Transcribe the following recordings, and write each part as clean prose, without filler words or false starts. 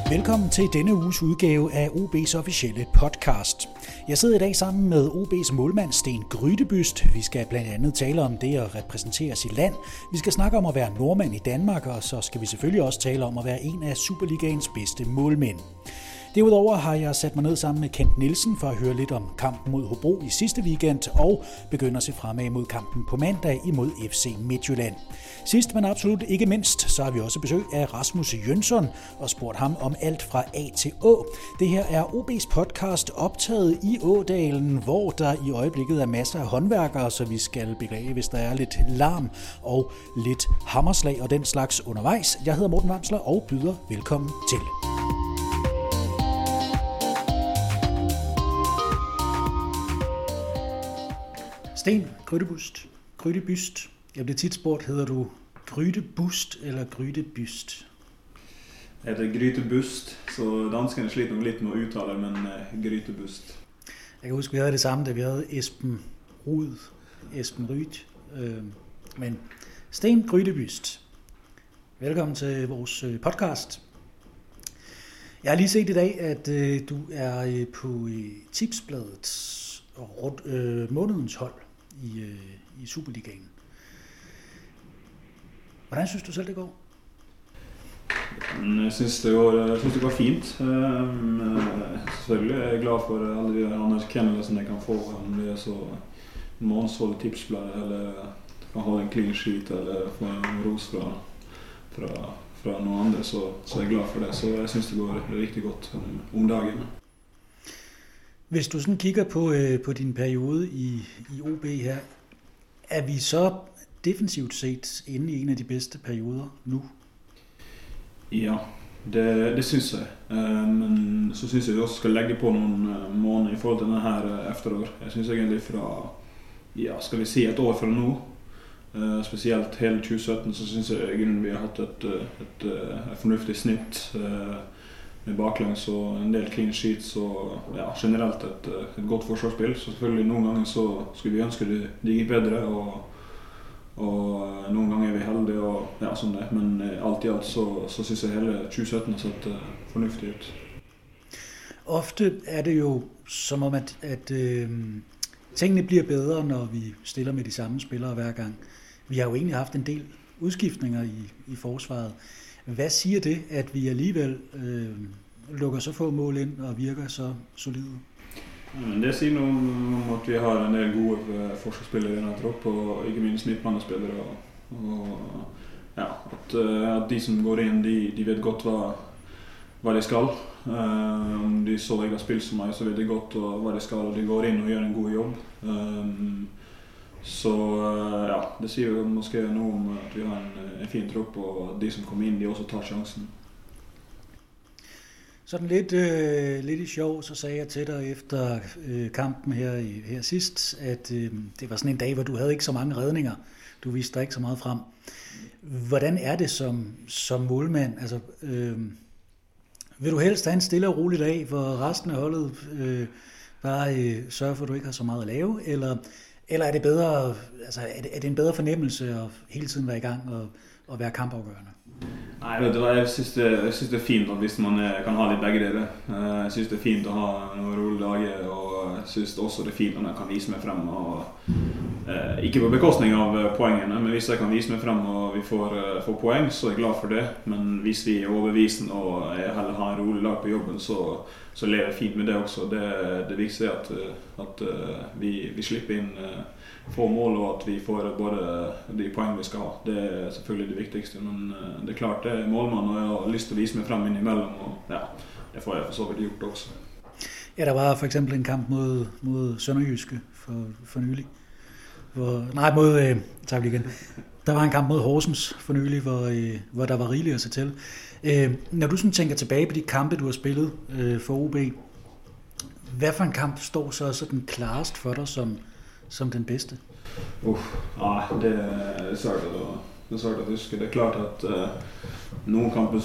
Velkommen til denne uges udgave af OB's officielle podcast. Jeg sidder i dag sammen med OB's målmand Sten Grydebyst. Vi skal blandt andet tale om det at repræsentere sit land. Vi skal snakke om at være nordmand i Danmark, og så skal vi selvfølgelig også tale om at være en af Superligaens bedste målmænd. Derudover har jeg sat mig ned sammen med Kent Nielsen for at høre lidt om kampen mod Hobro i sidste weekend, og begynder at se fremad mod kampen på mandag imod FC Midtjylland. Sidst, men absolut ikke mindst, så har vi også besøg af Rasmus Jønsson og spurgt ham om alt fra A til Å. Det her er OB's podcast optaget i Ådalen, hvor der i øjeblikket er masser af håndværkere, så vi skal beklage, hvis der er lidt larm og lidt hammerslag og den slags undervejs. Jeg hedder Morten Vamsler og byder velkommen til. Sten Grydebyst. Jeg bliver tit spurgt, hedder du Grydebust eller Grydebyst? Jeg heter Grytebust, så danskerne sliter nok lidt med at udtale, men Grytebust. Jeg kan huske, vi havde det samme, da vi havde Esben Ryd. Men Sten Grydebyst, velkommen til vores podcast. Jeg har lige set i dag, at du er på Tipsbladets månedens hold i Superligaen. Hvordan synes du selv, det går? Jeg synes det går fint. Selvfølgelig er jeg glad for alle de anerkendelsene jeg kan få. Om det er så månedshold i Tipsbladet, eller kan ha en clean sheet, eller få en ros fra noen andre, så er jeg glad for det. Så jeg synes det går rigtig godt om dagen. Hvis du sådan kigger på din periode i OB her, er vi så defensivt set inde i en af de bedste perioder nu? Ja, det synes jeg. Men så synes jeg vi også skal lægge på nogle måneder i forhold til denne her efterår. Jeg synes egentlig fra, skal vi si et år fra nu, specielt hele 2017, så synes jeg egentlig vi har haft et fornuftigt snit med baklengs og en del clean sheets og generelt et godt forsvarsspil. Så selvfølgelig nogle gange så skulle vi ønske det gik bedre, og nogle gange er vi heldige og sådan det. Men alt i alt så synes jeg hele 2017 har sett fornuftig ut. Ofte er det jo som om, at tingene bliver bedre, når vi stiller med de samme spillere hver gang. Vi har jo egentlig haft en del udskiftninger i forsvaret. Hvad siger det, at vi alligevel lukker så få mål ind og virker så solide? Men det siger noget om, at vi har en del gode forsvarsspillere i denne trupp, og ikke minst midtbanespillere. Og at de som går ind, de vet godt hvad de skal. Om de så ikke har spillet som mig, så vet de godt hvad de skal, og de går ind og gør en god jobb. Så det siger jo måske noget om, at vi har en fin trupp, og de som kommer ind, de også tager chancen. Sådan lidt i sjov, så sagde jeg til dig efter kampen her sidst, at det var sådan en dag, hvor du havde ikke så mange redninger. Du viste dig ikke så meget frem. Hvordan er det som målmand? Altså, vil du helst have en stille og rolig dag, hvor resten af holdet bare sørger for, at du ikke har så meget at lave? Eller er det bedre, altså er det en bedre fornemmelse at hele tiden være i gang og være kampafgørende? Nej, vet du hva, jeg synes det er fint at hvis man kan ha litt begge deler. Jeg synes det er fint å ha noen rolige dager, og jeg synes også det er fint når jeg kan vise meg frem. Ikke på bekostning av poengene, men hvis jeg kan vise meg frem og vi får poeng, så er jeg glad for det. Men hvis vi er overbevist og jeg heller har en rolig lag på jobben, så lever jeg fint med det også. Det viktigste er at vi slipper inn få mål, og at vi får både de poeng vi skal ha. Det er selvfølgelig det viktigste, men det er klart det er målmann, og jeg har lyst til å vise meg frem innimellom, og det får jeg for så vidt gjort også. Ja, der var for eksempel en kamp mod Sønderjyske for nylig. Der var en kamp mod Horsens for nylig, hvor der var rigeligt at se til. Når du sådan tænker tilbage på de kampe, du har spillet for OB, hvad for en kamp står så sådan klarest for dig som den bedste? Det er svært at huske. Det er klart at nogle kampe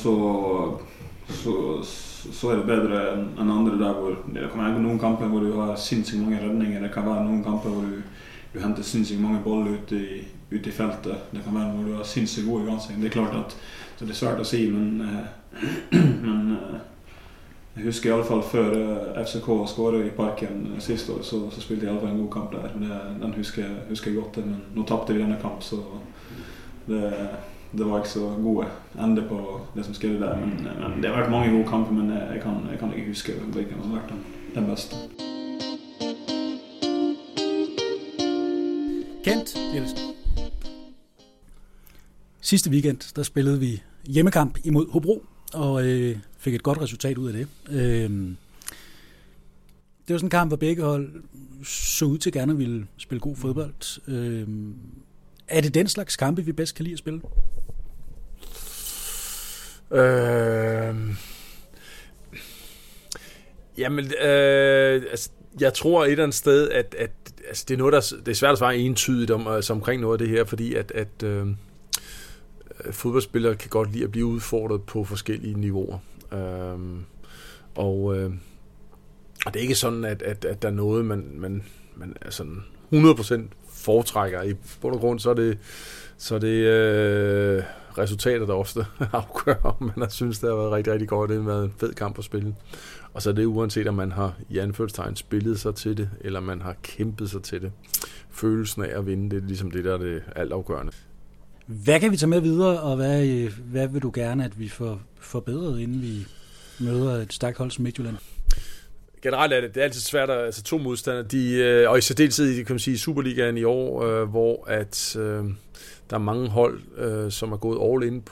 så er det bedre enn andre der hvor det kan være noen kamper hvor du har sinnssykt mange redninger. Det kan være noen kamper hvor du henter sinnssykt mange boller ut ute i feltet. Det kan være når du har sinnssykt gode i gansing. Det klart at det svært å si, men jeg husker i alle fall før FCK skåret i Parken sist år, så spilte jeg i alle fall en god kamp der. Den husker jeg godt, men nå tappte vi denne kamp, så det var ikke så gode ende på det som skjedde der. Men det har vært mange gode kamper, men jeg kan ikke huske hvilken som har vært den beste. Kent Nielsen. Sidste weekend, der spillede vi hjemmekamp imod Hobro, og fik et godt resultat ud af det. Det var sådan en kamp, hvor begge hold så ud til gerne at ville spille god fodbold. Er det den slags kampe, vi bedst kan lide at spille? Jeg tror et eller andet sted, at det er noget, det er svært at svare entydigt omkring noget af det her, fordi at fodboldspillere kan godt lide at blive udfordret på forskellige niveauer. Og det er ikke sådan, at der er noget, man er sådan 100% foretrækker. I bund og grund, så er det resultater, der ofte afgør, om man har synes, det har været rigtig, rigtig godt. Det har været en fed kamp at spille. Og så er det uanset, om man har i anførselstegn spillet sig til det, eller man har kæmpet sig til det. Følelsen af at vinde, det er ligesom det, der er det altafgørende. Hvad kan vi tage med videre, og hvad vil du gerne, at vi får forbedret, inden vi møder et stærkt hold som Midtjylland? Generelt er det er altid svært, altså to modstandere, og i særdeleshed kan man sige, i Superligaen i år, hvor at der er mange hold, som er gået all in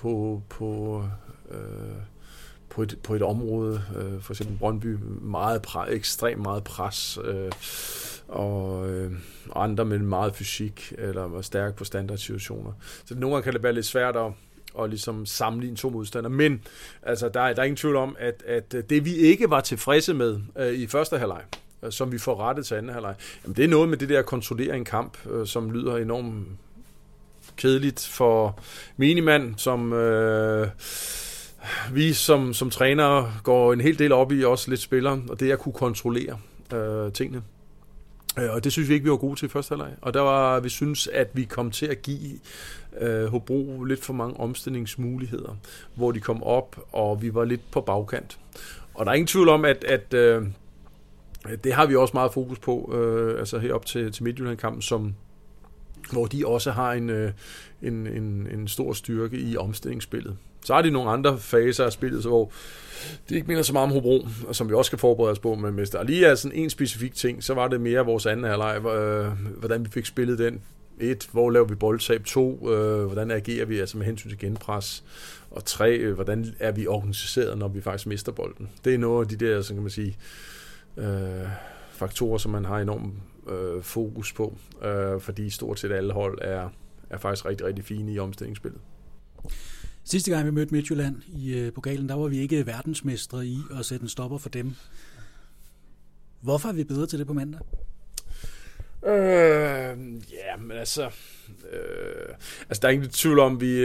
på et område, for eksempel Brøndby, ekstremt meget pres, og andre med meget fysik, eller stærk på standardsituationer. Så nogle gange kan det være lidt svært at ligesom sammenligne to modstandere, men altså, der er ingen tvivl om, at det vi ikke var tilfredse med i første halvleg, som vi får rettet til anden halvleg, jamen det er noget med det der at kontrollere en kamp, som lyder enormt kedeligt for minimand, som vi som trænere går en hel del op i, også lidt spillere, og det at kunne kontrollere tingene. Og det synes vi ikke, vi var gode til i første halvleg. Og vi synes, at vi kom til at give Hobro lidt for mange omstillingsmuligheder, hvor de kom op, og vi var lidt på bagkant. Og der er ingen tvivl om, at det har vi også meget fokus på, altså herop til Midtjylland-kampen, hvor de også har en stor styrke i omstillingsspillet. Så er de nogle andre faser af spillet, så hvor det ikke minder så meget om Hobro, som vi også skal forberede os på, men hvis der lige er sådan en specifik ting, så var det mere vores anden halvleg, hvordan vi fik spillet den. 1, hvor laver vi boldtab? 2, hvordan agerer vi altså med hensyn til genpres? Og 3, hvordan er vi organiseret, når vi faktisk mister bolden? Det er nogle af de der, så kan man sige, faktorer, som man har enormt fokus på, fordi stort set alle hold er faktisk rigtig, rigtig fine i omstillingsspillet. Sidste gang vi mødte Midtjylland i pokalen, der var vi ikke verdensmestre i at sætte en stopper for dem. Hvorfor er vi bedre til det på mandag? Men altså der er ingen tvivl om, vi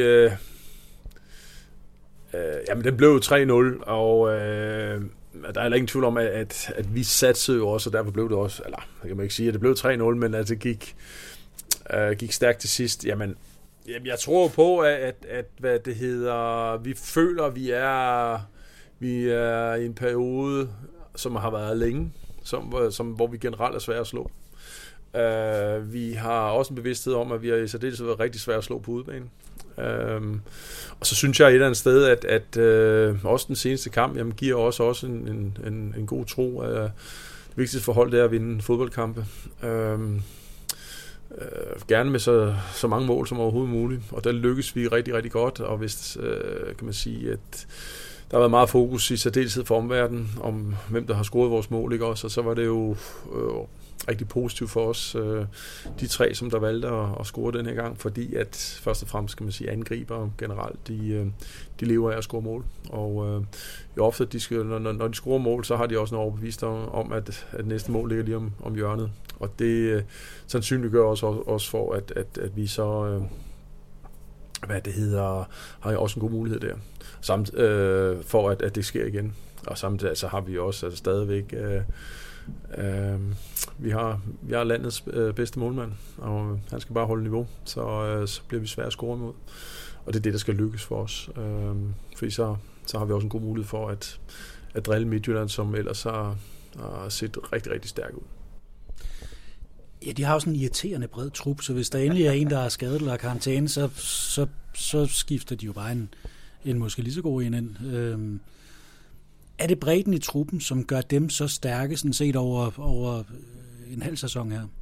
jamen den blev 3-0, og der er ingen tvivl om, at vi satsede jo også, og derfor blev det også, eller det kan man ikke sige, at det blev 3-0, men at det gik stærkt til sidst. Jamen, jeg tror på, at hvad det hedder, vi føler, vi er i en periode, som har været længe, hvor vi generelt er svære at slå. Vi har også en bevidsthed om, at vi har i særdeleshed været rigtig svære at slå på udebane. Og så synes jeg et eller andet sted, at også den seneste kamp, jamen, giver også en god tro. Det vigtigste forhold, det er at vinde fodboldkampe. Gerne med så mange mål som overhovedet muligt, og der lykkes vi rigtig, rigtig godt, og hvis kan man sige, at der har været meget fokus i særdeleshed for omverdenen, om hvem der har scoret vores mål, ikke også, og så var det jo rigtig positivt for os, de 3, som der valgte at score den her gang, fordi at først og fremmest, kan man sige, angriber generelt, de lever af at score mål, og jo ofte, når de scorer mål, så har de også en overbevist om, at næste mål ligger lige om hjørnet, og det sandsynliggør også for, at vi så har også en god mulighed der, samt for at det sker igen, og samtidig så har vi også stadigvæk Vi har landets bedste målmand, og han skal bare holde niveau, så bliver vi svære at score imod. Og det er det, der skal lykkes for os. Fordi så har vi også en god mulighed for at drille Midtjylland, som ellers har set rigtig, rigtig stærk ud. Ja, de har jo sådan en irriterende bred trup, så hvis der endelig er en, der er skadet eller karantæne, så skifter de jo bare en måske lige så god en ind. Er det bredden i truppen, som gør dem så stærke, sådan set over en halv sæson her?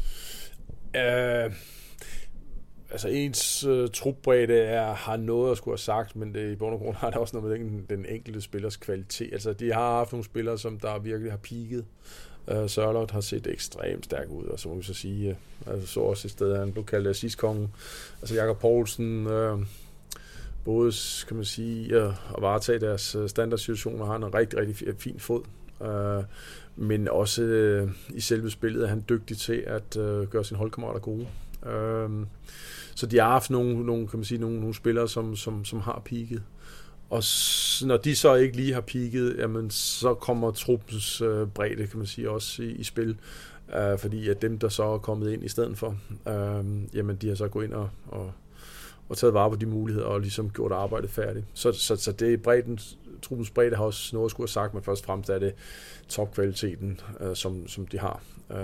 Altså ens trupbredde har noget at skulle have sagt, men det, i bund og grund har det også noget med den enkelte spillers kvalitet. Altså de har haft nogle spillere, som der virkelig har peaket. Sørloth har set ekstremt stærk ud, og så må vi så sige, så også et sted, han blev kaldt assistkongen. Altså Jakob Poulsen, både kan man sige, at varetage deres standardsituationer, har en rigtig, rigtig fin fod. Men også i selve spillet er han dygtig til at gøre sine holdkammerater gode. Så de har haft nogle kan man sige, nogle spillere, som har peaket. Og når de så ikke lige har peaket, jamen, så kommer truppens bredde, kan man sige, også i spil. Fordi at dem, der så er kommet ind i stedet for, jamen, de har så gået ind og taget vare på de muligheder og ligesom gjort arbejdet færdigt. Så det er truppens bredde har også noget at skulle have sagt, men først og fremmest er det topkvaliteten, som de har.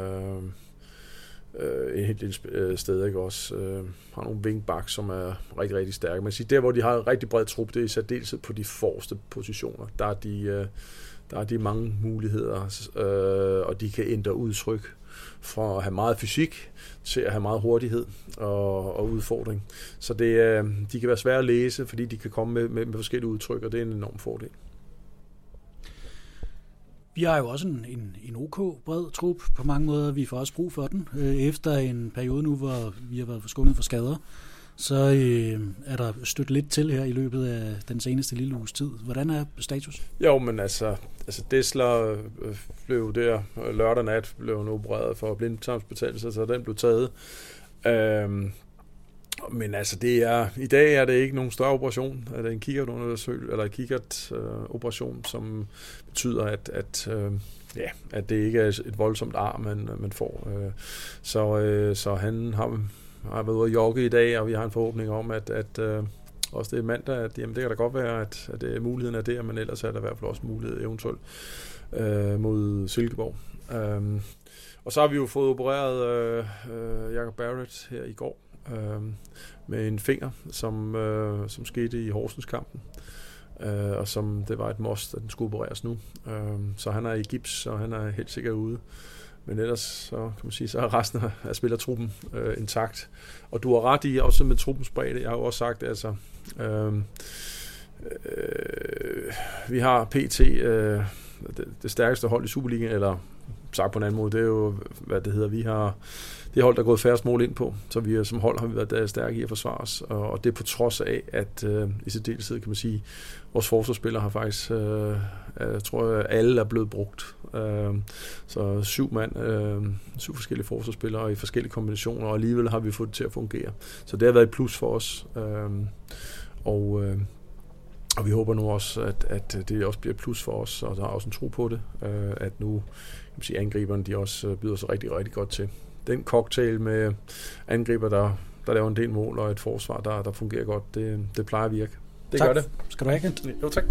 Et helt lille sted, ikke også? Har nogle wingbacks, som er rigtig, rigtig stærke. Man siger, der hvor de har en rigtig bred trup, det er i særdeleshed på de forreste positioner. Der er de mange muligheder, og de kan ændre udtryk fra at have meget fysik til at have meget hurtighed og udfordring. Så de kan være svære at læse, fordi de kan komme med forskellige udtryk, og det er en enorm fordel. Vi har jo også en OK bred trup på mange måder. Vi får også brug for den. Efter en periode nu, hvor vi har været forskånet for skader, så er der stødt lidt til her i løbet af den seneste lille uges tid. Hvordan er status? Jo, men altså Dessler blev der lørdag nat, blev opereret for blindtarmsbetændelse, så den blev taget. Men altså i dag er det ikke nogen større operation. Det er en kikkert-operation, som betyder, at det ikke er et voldsomt ar, man får. Så han har været ude at jogge i dag, og vi har en forhåbning om, at også det er mandag, at jamen, det kan da godt være, at muligheden er der, men ellers er der i hvert fald også mulighed eventuelt mod Silkeborg. Og så har vi jo fået opereret Jacob Barrett her i går, med en finger, som skete i Horsens-kampen, og som det var et must, at den skulle opereres nu. Så han er i gips, og han er helt sikkert ude. Men ellers så kan man sige, så er resten af spillertruppen intakt. Og du har ret i, også med truppens bredde. Jeg har jo også sagt, altså vi har PT det stærkeste hold i Superligaen, eller sagt på en anden måde, det er jo, hvad det hedder, vi har det hold, der er gået færrest mål ind på, så vi som hold har vi været stærke i at forsvare os, og det er på trods af, at i særdeleshed kan man sige, vores forsvarsspillere har faktisk, jeg tror alle er blevet brugt. Så 7 forskellige forsvarsspillere i forskellige kombinationer, og alligevel har vi fået det til at fungere. Så det har været et plus for os, og vi håber nu også, at det også bliver et plus for os, og der er også en tro på det, at nu kan man sige, angriberne de også byder sig rigtig, rigtig godt til. Den cocktail med angriber, der laver en del mål, og et forsvar, der fungerer godt, det plejer at virke. Det tak. Gør det. Skal du have, Kent? Jo, tak.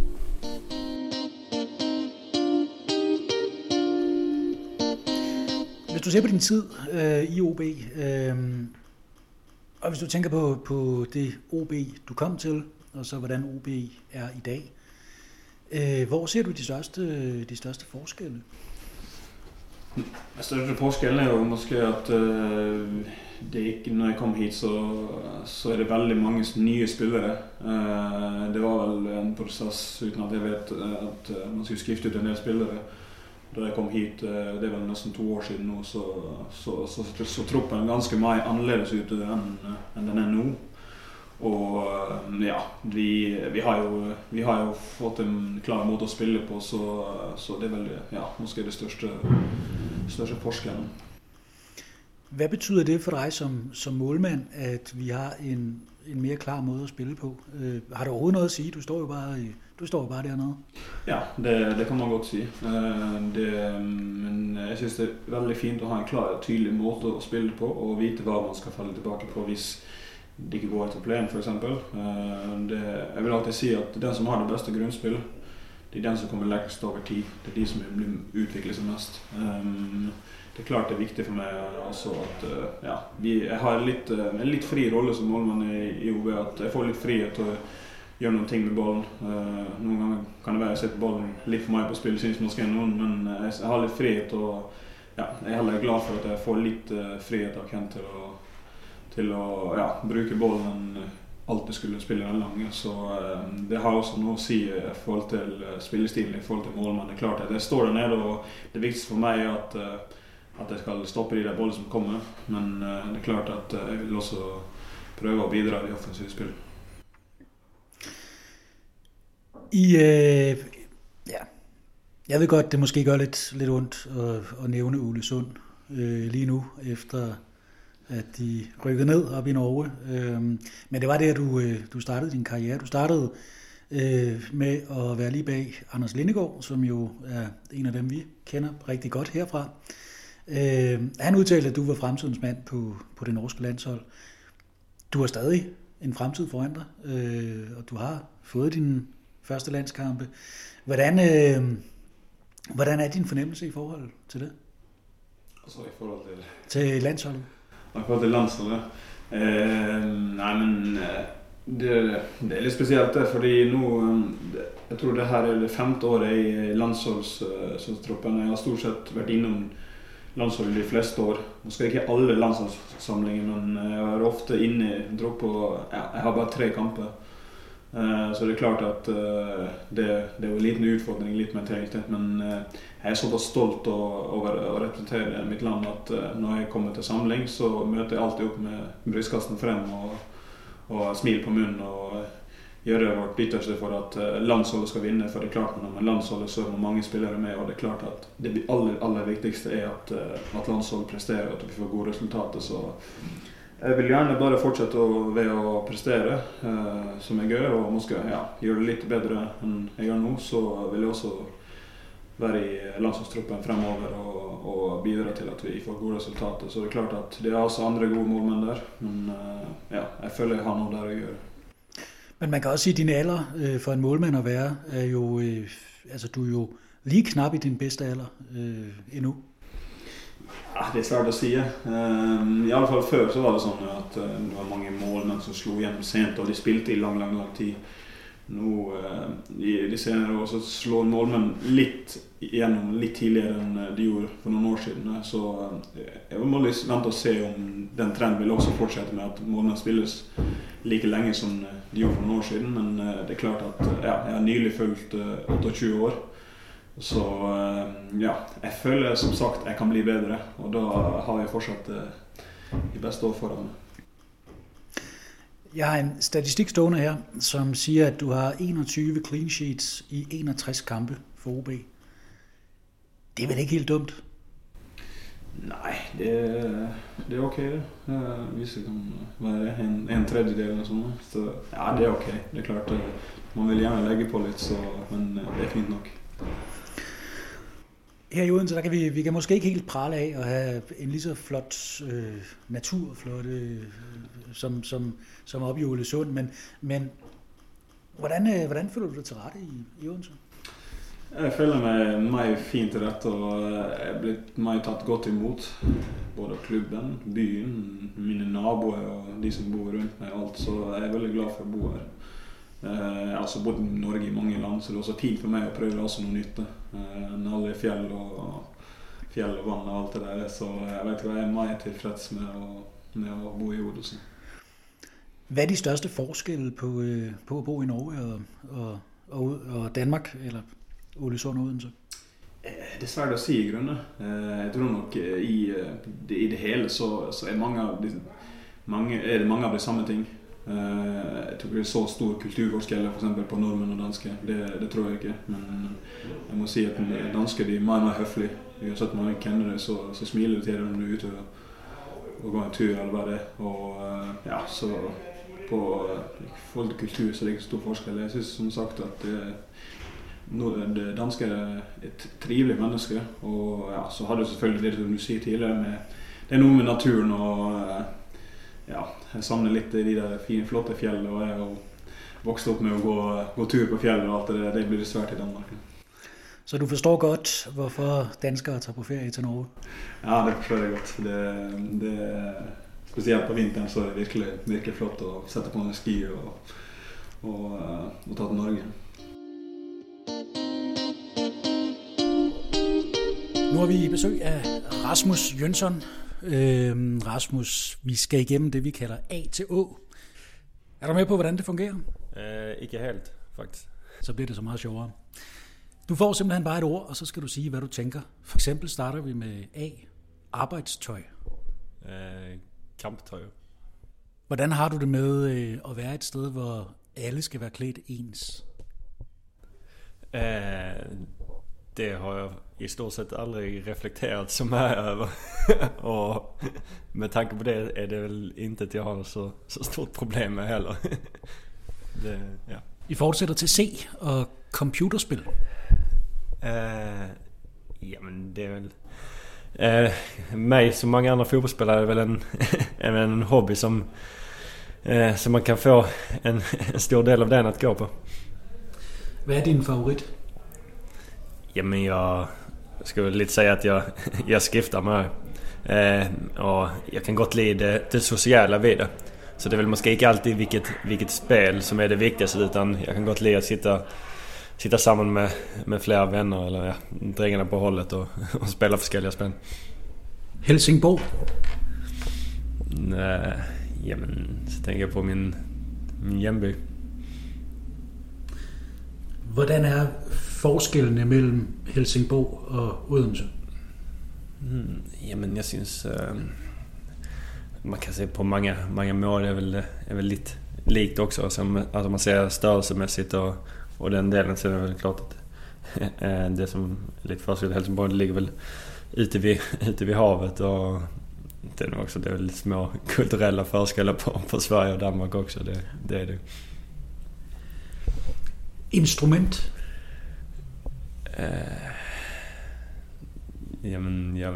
Hvis du ser på din tid i OB, og hvis du tænker på det OB, du kom til, og så hvordan OB er i dag, hvor ser du de største forskelle? Den største forskellen er jo måske at det ikke, når jeg kom hit, så er det veldig mange nye spillere. Det var vel en prosess uten at jeg vet at man skulle skifte ut en del spillere. Da jeg kom hit, det er vel nesten 2 år siden nå, så truppen er ganske mye annerledes ut enn den er nå. Og ja, vi har jo fått en klar måte å spille på, så det er vel måske det største forskjellen. Hvad betyder det for dig som målmand, at vi har en mere klar måde at spille på? Har du overhovedet noget at sige? Du står jo bare dernede. Ja, det kan man godt sige. Men jeg synes det er veldig fint at have en klar og tydelig måde at spille på, og vite hvad man skal falde tilbage på, hvis det ikke går etter plan, for eksempel. Jeg vil alltid sige at den som har det bedste grundspil, det er den som kommer længst over tid. Det er de som udvikler sig mest. Det er klart det er vigtigt for mig også at jeg har en lidt fri rolle som målmand i OB, at jeg får lidt frihet til at gøre nogle ting med bollen. Nogle gange kan det være at jeg sætter bollen lidt for meget på spil, synes måske nogen, men jeg har lidt frihet, og jeg er heller glad for at jeg får lidt frihet af Kent til at bruge bollen end alltid skulle spille en lange. Så det har også noget at sige i forhold til spillestilen, i forhold til målmand. Det er klart at jeg står dernede, og det vigtigste for mig er at jeg skal stoppe de der bollen som kommer, men det er klart at jeg vil også prøve at bidra i offensivt spil. Jeg ved godt, det måske gør lidt ondt at nævne Ålesund lige nu, efter at de rykkede ned op i Norge. Men det var der, du startede din karriere. Du startede med at være lige bag Anders Lindegaard, som jo er en af dem, vi kender rigtig godt herfra. Han udtalte, at du var fremtidens mand på det norske landshold. Du har stadig en fremtid foran dig, og du har fået dine første landskampe. Hvordan er din fornemmelse i forhold til det? Altså i forhold til landsholdet? I forhold til landsholdet? Nej, men det er lidt specielt det, fordi nu, jeg tror det her er det 5. året i landsholdstroppen. Jeg har stort sett vært innom landsholdet de fleste år. Måske ikke alle landsholdssamlinger, men jeg er ofte inne i tropp, og jeg har bare 3 kamper. Så det er klart at det er jo en liten utfordring, litt mentalt, men jeg er såpass stolt over å representere mitt land at når jeg kommer til samling så møter jeg alltid opp med brystkassen frem og smil på munnen og gjøre vårt ytterste for at landsholdet skal vinne, for det er klart når landsholdet så er mange spillere med, og det er klart at det aller viktigste er at landsholdet presterer, at vi får gode resultater, så jeg vil gjerne bare fortsette ved å prestere som jeg gjør, og måske gjøre det litt bedre enn jeg gjør nå, så vil jeg også være i landslagstroppen fremover og bidra til at vi får gode resultater. Så det er klart at det er også andre gode målmenn der, men jeg føler jeg har noe der å gjøre. Men man kan også sige, at din alder for en målmand at være, er jo, du er jo lige knap i din bedste alder endnu. Ja, det er svært å si. I alle fall før så var det sånn at det var mange målmenn som slo hjem sent, og de spilte i lang tid. Nå, i de senere år så slår målmenn litt igjennom litt tidligere enn de gjorde for noen år siden. Så jeg må vente og se om den trenden vil også fortsette med at målmenn spilles like lenge som de gjorde for noen år siden. Men det er klart at jeg har nylig følt 28 år. Så jeg føler som sagt jeg kan bli bedre, og da har jeg fortsatt de beste år foran meg. Jeg har en statistik stående her, som siger, at du har 21 clean sheets i 61 kampe for OB. Det er vel ikke helt dumt? Nej, det er okay det. Hvis det kan være en tredjedel eller sådan noget. Så ja, det er okay. Det er klart, man vil gerne lægge på lidt, så, men det er fint nok. Her i Odense, der kan vi kan måske ikke helt prale af at have en lige så flot naturflotte som oppe i Ålesund, men hvordan føler du dig til rette i Odense? Jeg føler mig fint til rette, og jeg er blitt meg tatt godt imot. Både klubben, byen, mine naboer og de som bor rundt meg og alt, så jeg er veldig glad for å bo her. Jeg har også bodd i Norge i mange land, så det er også fint for meg å prøve også noe nytt. Alle fjell og vann og alt det der, så jeg vet hva jeg er meget tilfreds med å bo i Odense. Hvad er de største forskelle på at bo i Norge og Danmark, eller Ålesund og Odense? Det er svært å si i grunnen. Jeg tror nok i det hele så er det mange av de samme ting. Jeg tror ikke det er så stor kulturforskjell for eksempel på nordmenn og danske, det tror jeg ikke, men jeg må si at danske de er meget høflige. Uansett man ikke kender det, så smiler du til dem når du er ute gå en tur eller bare det. Og ja, så på forhold til kultur så er det ikke stor forskel. Jeg synes som sagt at det danske er et trivelig menneske, og ja, så har du selvfølgelig det som du sier tidligere med, det er noe med naturen og ja, jeg savner litt i de der fine, flotte fjellene, og jeg har vokst opp med å gå tur på fjellet og alt det blir det svært i Danmark. Så du forstår godt, hvorfor danskere tager på ferie til Norge? Ja, det forstår jeg godt. Det spesielt på vinteren så er det virkelig, virkelig flott å sette på en ski og ta til Norge. Nu har vi besøg af Rasmus Jønsson. Rasmus, vi skal igennem det, vi kalder A til Å. Er du med på, hvordan det fungerer? Ikke helt, faktisk. Så bliver det så meget sjovere. Du får simpelthen bare et ord, og så skal du sige, hvad du tænker. For eksempel starter vi med A. Arbejdstøj. Kamptøj. Hvordan har du det med at være et sted, hvor alle skal være klædt ens? Det har jeg i stort sett aldrig reflekteret så meget over. Og med tanke på det er det vel ikke, at jeg har så stort problem med heller. Det, ja. I fortsætter til C og computerspil. Jamen det er vel mig som mange andre fodboldspillere er vel en hobby som man kan få en stor del av den at gå på. Hvad er din favorit? Jamen jeg skal jo lidt sige at jeg skifter mig og jeg kan godt lide det sociale ved det. Så det er vel måske ikke altid hvilket spil som er det vigtigste, utan jeg kan godt lide at sitte sammen med flere venner eller ja, drengene på holdet og spille forskellige spil. Helsingborg? Jamen, så tænker jeg på min hjemby. Hvordan er forskellene mellem Helsingborg og Odense? Jamen, jeg synes man kan se på mange måder er vel lidt likt også, altså man ser størrelsemæssigt og den delen, så er det vel klart at det som er lidt forskel i Helsingborg, det ligger vel ute ved havet, og det er også det er lidt små kulturelle forskelle på Sverige og Danmark også, det er det. Instrument? Jamen, jeg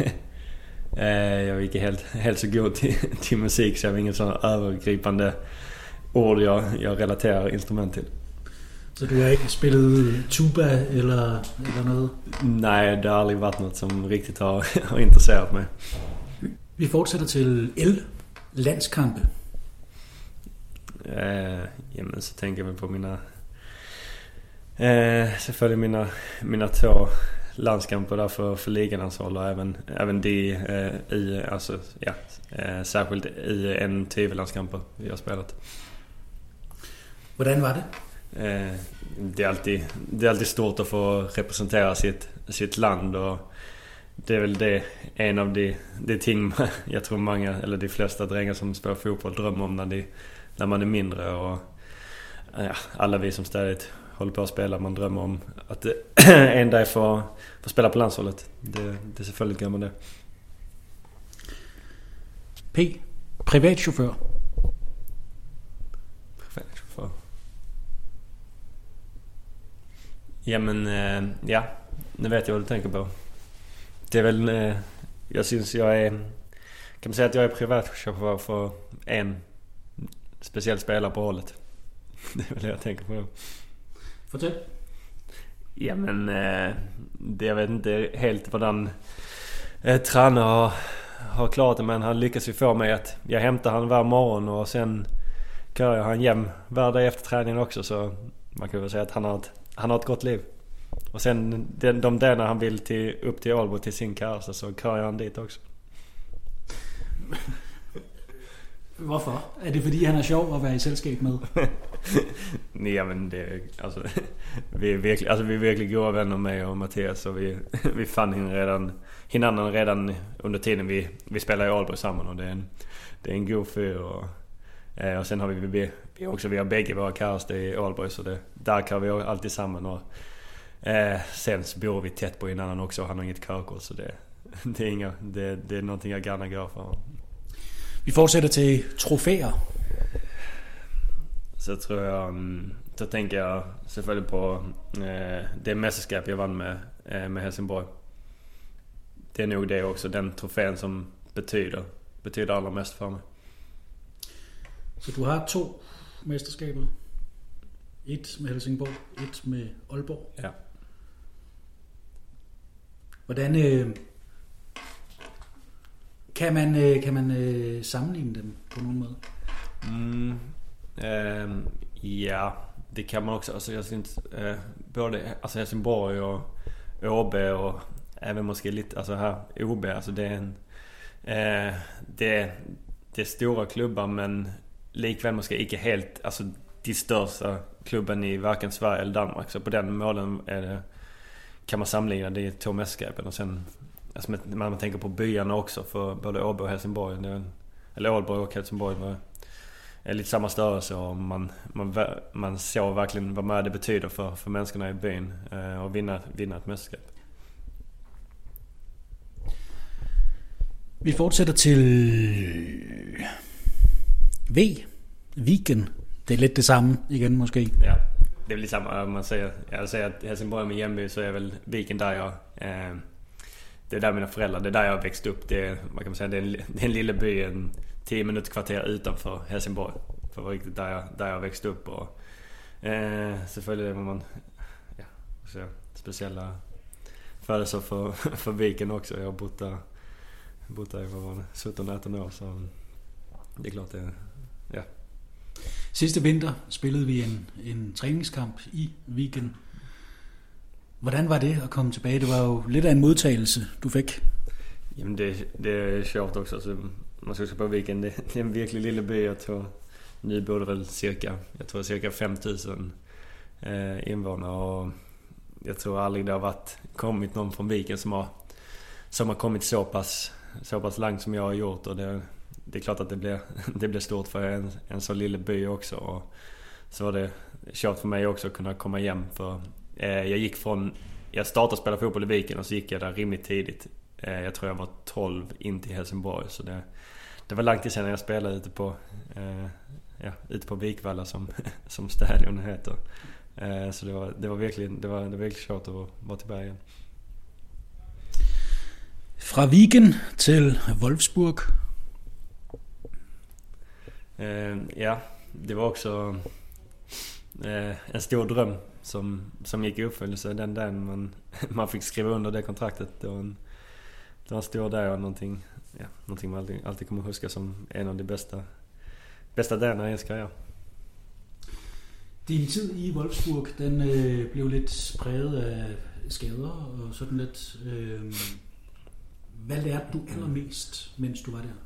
er ikke helt så god til musik, så jeg har ingen sådan övergripande ord, jeg relaterer instrument til. Så du har ikke spillet tuba eller noget? Nej, det har aldrig været noget, som rigtigt har interesseret mig. Vi fortsætter til L. Landskampe. Jamen, så tænker jeg på selvfølgelig mine 2 landskamper där för liganshold och även de i alltså ja särskilt i en TV-landskamper vi har spelat. Hvordan var det? Det är alltid stort att få representera sitt land, och det är väl det en av de ting jag tror många eller de flesta drängar som spelar fotboll drömmer om när man är mindre, och ja, alla vi som ständigt håller på att spela, man drömmer om att en dag får spela på landshållet. Det selvfølgelig gør man det. P. Privatchauffør. Privatchauffør. Jamen, ja, nu vet jag vad du tänker på. Det är väl, jag syns jag är, kan man säga att jag är privatchaufför för en speciell spelare på hållet. Det är väl det jag tänker på. Fortæl. Jamen, det jag vet inte helt hvordan tränare har klarat det, men han lyckas ju få mig att jag hämtar han var morgon och sen kör jag han hem var dag efter träningen också, så man kan väl säga att han har ett gott liv. Och sen de där när han vill upp till Aalborg till sin käresta, så kör jag han dit också. Hvorfor? Er det fordi han er sjov at være i selskab med? Nej, men det alltså vi är verkligen goda vänner med och Mattias, och vi fann hinanden redan under tiden vi spelar i Aalborg samman, och det är en god fyr, och sen har vi har bägge våra kärster i Aalborg, så där kan vi alltid samman, och sen så bor vi tätt på hinanden också, och han har inget körkort, så det är någonting jag gärna går för. Vi fortsætter til trofæer. Så tror jeg, så tänker jag selvfølgelig på det mästerskap jag vann med Helsingborg. Det är nog det också, den trofén som betyder allra mest för mig. Så du har 2 mesterskaber. Et med Helsingborg, et med Aalborg. Ja. Hvordan kan man sammenligne dem på nogen måde? Ja, det kan man också. Alltså jag syns både alltså Helsingborg och ÅB och även måske lite alltså här OB, alltså det är en det är stora klubbar, men likväl måske inte helt alltså de största klubben i varken Sverige eller Danmark, så på den målen är det, kan man samla det i 2 mästerskapen. Och sen alltså man tänker på byarna också, för både Åbo och Helsingborg, eller Aalborg och Helsingborg är lite samma störelse, och man ser verkligen vad mer det betyder för människorna i byn och vinna ett mästerskap. Vi fortsætter til Viken. Det er lidt det samme igen måske. Ja, det är väl lite samma. Man säger att Helsingborg är min hemby, så är väl Viken där jag det är där mina föräldrar, det är där jag växt upp. Det är, vad kan man säga, det är en lilla by, en 10 minuter kvarter utanför Helsingborg. För var riktigt där jag växt upp, och selvfølgelig var man så speciella födelser för Viken också. Jag har bott där i 17-18 år, så det är klart det. Ja. Sidste vinter spillede vi en træningskamp i Viken. Hvordan var det at komme tilbage? Det var jo lidt af en modtagelse, du fik. Jamen det är sjovt också. Alltså, man ska på Viken, det är en virkelig lille by. Jag tror nu bor det väl cirka 5 000 invånare, och jag tror aldrig det har kommit någon från Viken som har kommit så pass långt som jag har gjort, och det är klart att det blir stort för en så lille by också, och så var det kört för mig också att kunna komma hem, för jag startade spela fotboll i Viken, och så gick jag där rimligt tidigt. Jag tror jag var 12 in till Helsingborg, så det var långt sedan jag spelade ute på Vikvalla som stadion heter. Så det var verkligen kört att vara tillbaka igen. Fra Viken til Wolfsburg. Ja, det var också en stor dröm som gick i uppfyllelse den dagen man fick skriva under det kontraktet. Det var en stor dag, och någonting man alltid kommer huska som en av de bästa dagarna i ens karriär. Din tid i Wolfsburg, den blev lidt præget af skader og sådan lidt. Hvad lærte du allermest, mens du var der?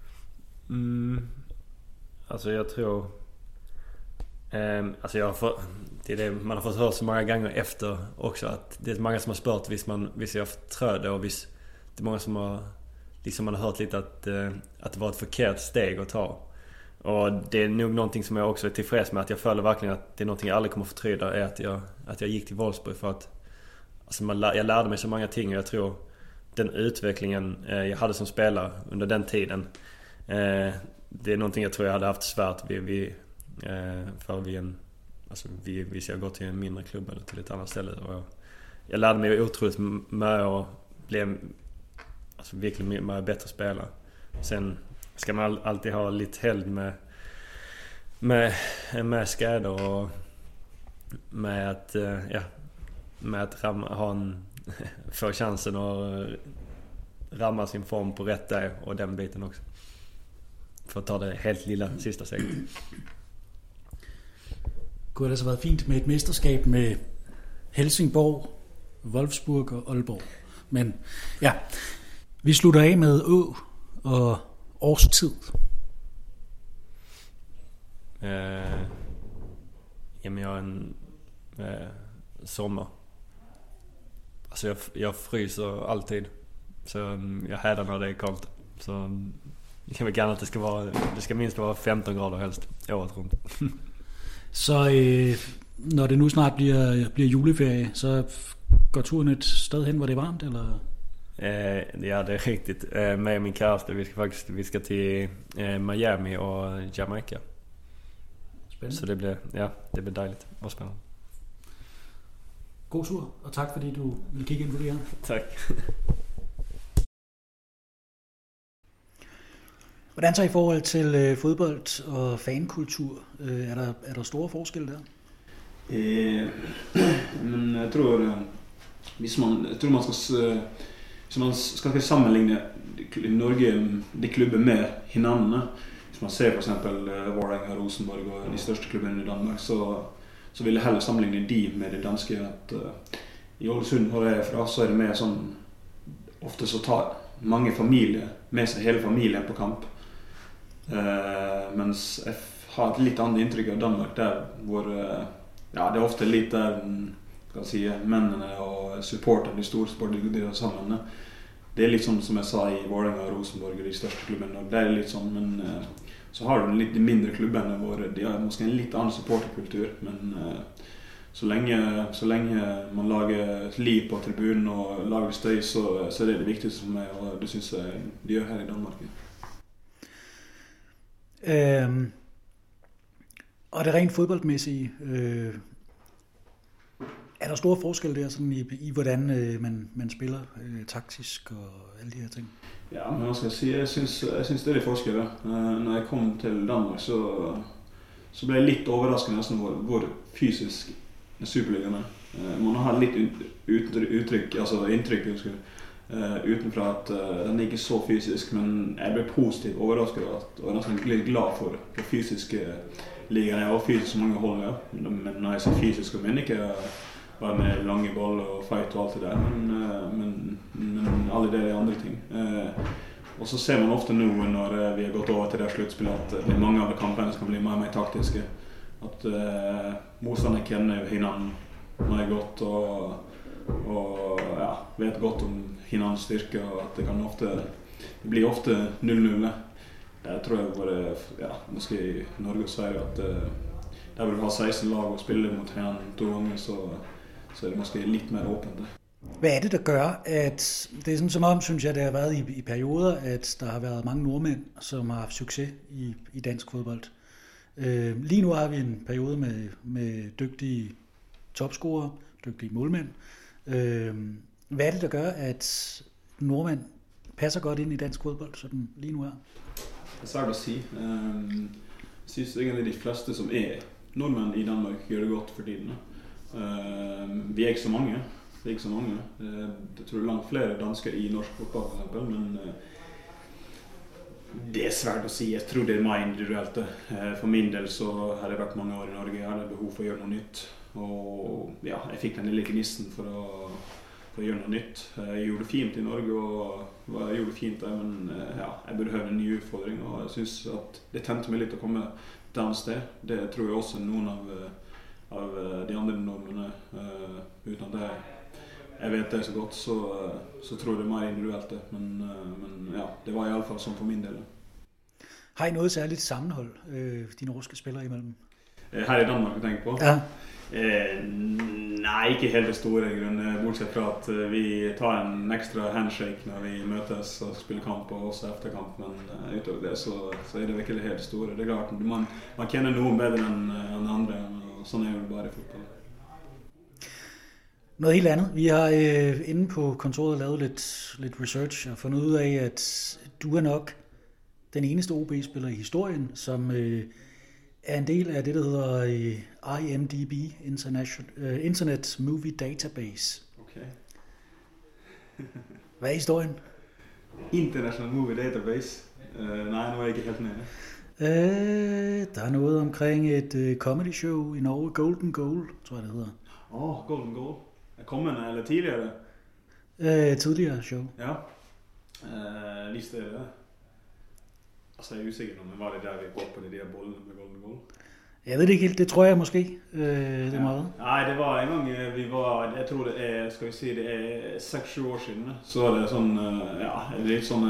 Alltså jag tror alltså det är det man har fått höra så många gånger efter också, att det är många som har spurt hvis jag förtrödde, och det är många som har liksom man har hört lite att det var ett förkert steg att ta. Och det är nog någonting som jag också är tillfreds med, att jag följer verkligen att det är någonting jag aldrig kommer förtryda, är att jag gick till Wolfsburg, för att alltså jag lärde mig så många ting, och jag tror den utvecklingen jag hade som spelare under den tiden, det är någonting jag tror jag hade haft svårt vi ska gå till en mindre klubb eller till ett annat ställe, och jag lärde mig otroligt med och blev alltså verkligen mer bättre spelare. Sen ska man alltid ha lite helg med skador, och med att få chansen att ramma sin form på rätt dag, och den biten också, för att ta det helt lilla sista steget. Kunne det altså været fint med et mesterskab med Helsingborg, Wolfsburg og Aalborg. Men ja, vi slutter af med og årstid. Jamen jag är en sommar. Alltså jag fryser alltid, så jag härdar när det är kallt. Så jag kan väl gärna att det ska minst vara 15 grader helst året runt. Så når det nu snart bliver juleferie, så går turen et sted hen, hvor det er varmt, eller? Ja, det är riktigt. Med min kæreste, vi ska till Miami och Jamaica. Spændende. Så det bliver dejligt og spændende. God tur, og tak fordi du vil kigge ind på det her. Tak. Hvordan så i forhold til fodbold og fankultur? Er der store forskelle der? Men jeg tror hvis man skal sammenligne Norge, de klubber med hinanden, hvis man ser for eksempel Vålerenga, Rosenborg og de største klubbene i Danmark, så vil jeg heller sammenligne de med det danske. At i Ålesund, hvor jeg er fra, så er det mer sånn, ofte så tar mange familier med seg hele familien på kamp. Mens jeg har et litt annet inntrykk av Danmark, der hvor det er ofte litt der mennene og supporterne, de store sportene, de sammen. Det er litt sånn som jeg sa i Vålerenga, Rosenborg og de største klubbene, og det er litt sånn, men så har du litt de mindre klubbene hvor de har måske en litt annen supporterkultur, men så lenge man lager liv på tribunen og lager støy, så er det det viktigste for meg, og det synes jeg de gjør her i Danmark. Og det rent fodboldmæssige, er der store forskelle der sådan i hvordan man spiller taktisk og alle de her ting? Ja, men hva skal jeg si? Jeg synes det er forskelle. Når jeg kom til Danmark, så ble jeg litt overraskende nesten hvor fysisk Superligaen er. Man har litt inntrykk utenfra at den er ikke så fysisk, men jeg ble positivt overrasket og nesten litt glad for fysiske ligaen. Jeg var fysisk så mange hold, ja. Men når jeg sier fysisk, så mener jeg ikke bare med lange ball og fight og alt det der, men alle de andre ting. Og så ser man ofte nå når vi har gått over til det sluttspillet at det er mange av kampene som kan bli mer taktiske. At motstanderne kjenner hinanden mer godt og vet godt om hinandens styrke, og at det blir ofte 0-0. Det tror jeg bare, måske i Norge og Sverige, at der vil du ha 16 lag og spille mot hinanden 2 ganger, så er det måske litt mer åpent. Hvad er det, der gør, at det er sådan som om, synes jeg, det har været i perioder, at der har været mange nordmænd, som har haft succes i dansk fodbold. Lige nu har vi en periode med dygtige topscorere, dygtige målmænd. Hvad er det, der gør, at nordmænd passer godt ind i dansk fodbold, sådan lige nu er? Det er svært å si. Jeg synes egentlig de fleste som er nordmenn i Danmark gjør det godt for tiden. Vi er ikke så mange. Jeg tror langt flere dansker i norsk fotball for eksempel, men det er svært å si. Jeg tror det er mer individuelt. For min del så har det vært mange år i Norge. Jeg hadde behov for å gjøre noe nytt. Og jeg fikk den lille gnisten for å gjøre noe nytt. Jeg gjorde det fint i Norge, og jeg gjorde det fint der, men jeg burde høre en ny utfordring, og jeg synes at det tente meg litt å komme et annet sted. Det tror jeg også noen av de andre nordmennene, uten at jeg vet det så godt, så tror jeg det er mer individuelt det, men det var i alle fall sånn for min del. Har I noget særligt sammenhold, de norske spillere imellem? Her i Danmark, jeg tenker på? Ja. Nei, ikke helt det store i grunnen, bortsett fra at vi tar en ekstra handshake når vi møtes og spiller kamp og også efter kamp, men utover det så er det ikke helt store. Det er klart, man kjenner noen bedre enn andre, og sånn er det bare i fotball. Noget helt andet. Vi har inde på kontoret lavet lidt research og fundet ud af, at du er nok den eneste OB-spiller i historien, som er en del af det, der hedder IMDb, Internet Movie Database. Okay. Hvad er historien? International Movie Database? Nej, nu er jeg ikke helt med. Der er noget omkring et comedy show i Norge, Golden Goal, tror jeg det hedder. Golden Goal. Er kommende eller tidligere? Tidligere show. Ja. Liste det. Altså jeg er usikker nå, men var det der vi går på de der bollene med Golden Goal? Jeg ved det ikke helt, det tror jeg måske. Det er meget. Nej, det var en gang vi var, jeg tror det er, skal vi si, det er 6-7 år siden. Så er det sånn, litt sånn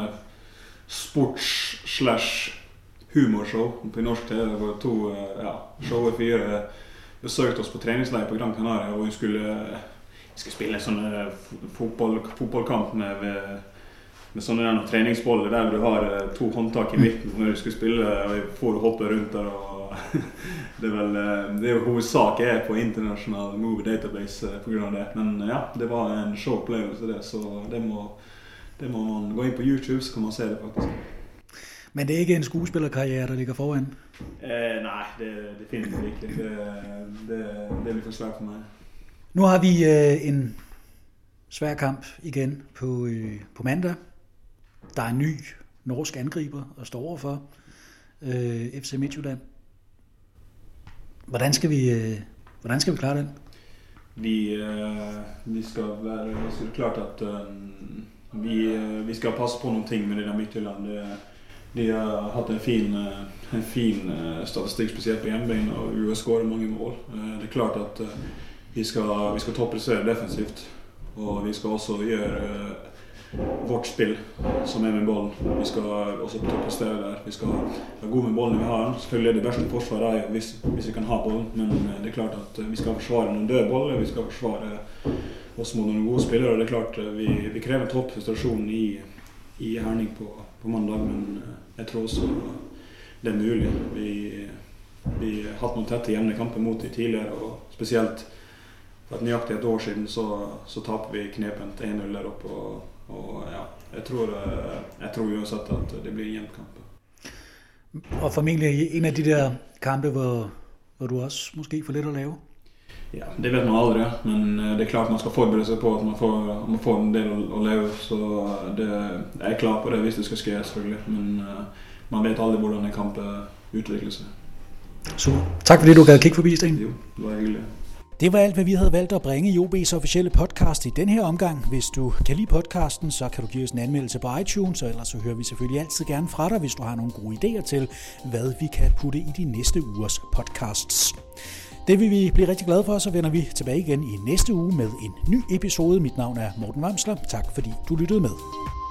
sports/humorshow på norsk TV. Det var 2 show 4 besøkte oss på treningsleir på Gran Canaria, og vi skulle skal spille en sånn fotballkamp med sånne treningsboller der du har 2 håndtak i midten når du skal spille, og får hoppe rundt der. Og det er jo hovedsak jeg på international movie database på grunn av det. Men ja, det var en show-opplevelse det, så det må man gå inn på YouTube, så kan man se det faktisk. Men det er ikke en skuespillerkarriere, der ligger foran? Nej, det findes ikke. Det er for svært for mig. Nu har vi en svær kamp igen på mandag. Der er en ny norsk angriber at stå overfor, FC Midtjylland. Hvordan skal vi klare den? Vi skal være klart at vi skal passe på nogle ting med det der Midtjylland. De har haft en fin statistik, specielt på hjemmebane, og vi har scoret mange mål. Det er klart at vi skal toppressere defensivt, og vi skal også gjøre vårt spil som med bollen. Vi skal også toppressere der. Vi skal være gode med bollen vi har. Selvfølgelig det bedste forsvaret hvis vi kan ha bollen, men det er klart at vi skal forsvare noen døde boller, vi skal forsvare oss mot noen gode spillere, og det er klart vi krever toppprestasjon i Herning på mandag, men jeg tror også det er mulig. Vi har hatt noen tette jevne kamper mot de tidligere, og spesielt for et nøyaktig et år siden så taper vi knepent 1-0 der oppe, og ja, jeg tror uansett at det blir en jevn kamp. Og formentlig en af de der kampe, hvor du også måske får lidt at lave? Ja, det vet man aldrig, men det er klart man skal forberede sig på, at man får en del at lave, så jeg er klar på det, hvis det skal ske, selvfølgelig, men man vet aldrig, hvordan en kamp udvikler sig. Super. Tak fordi du gad kigge forbi, Sten. Jo, det var hyggeligt. Det var alt, hvad vi havde valgt at bringe i OB's officielle podcast i den her omgang. Hvis du kan lide podcasten, så kan du give os en anmeldelse på iTunes, og ellers så hører vi selvfølgelig altid gerne fra dig, hvis du har nogle gode idéer til, hvad vi kan putte i de næste ugers podcasts. Det vil vi blive rigtig glade for, så vender vi tilbage igen i næste uge med en ny episode. Mit navn er Morten Vamsler. Tak fordi du lyttede med.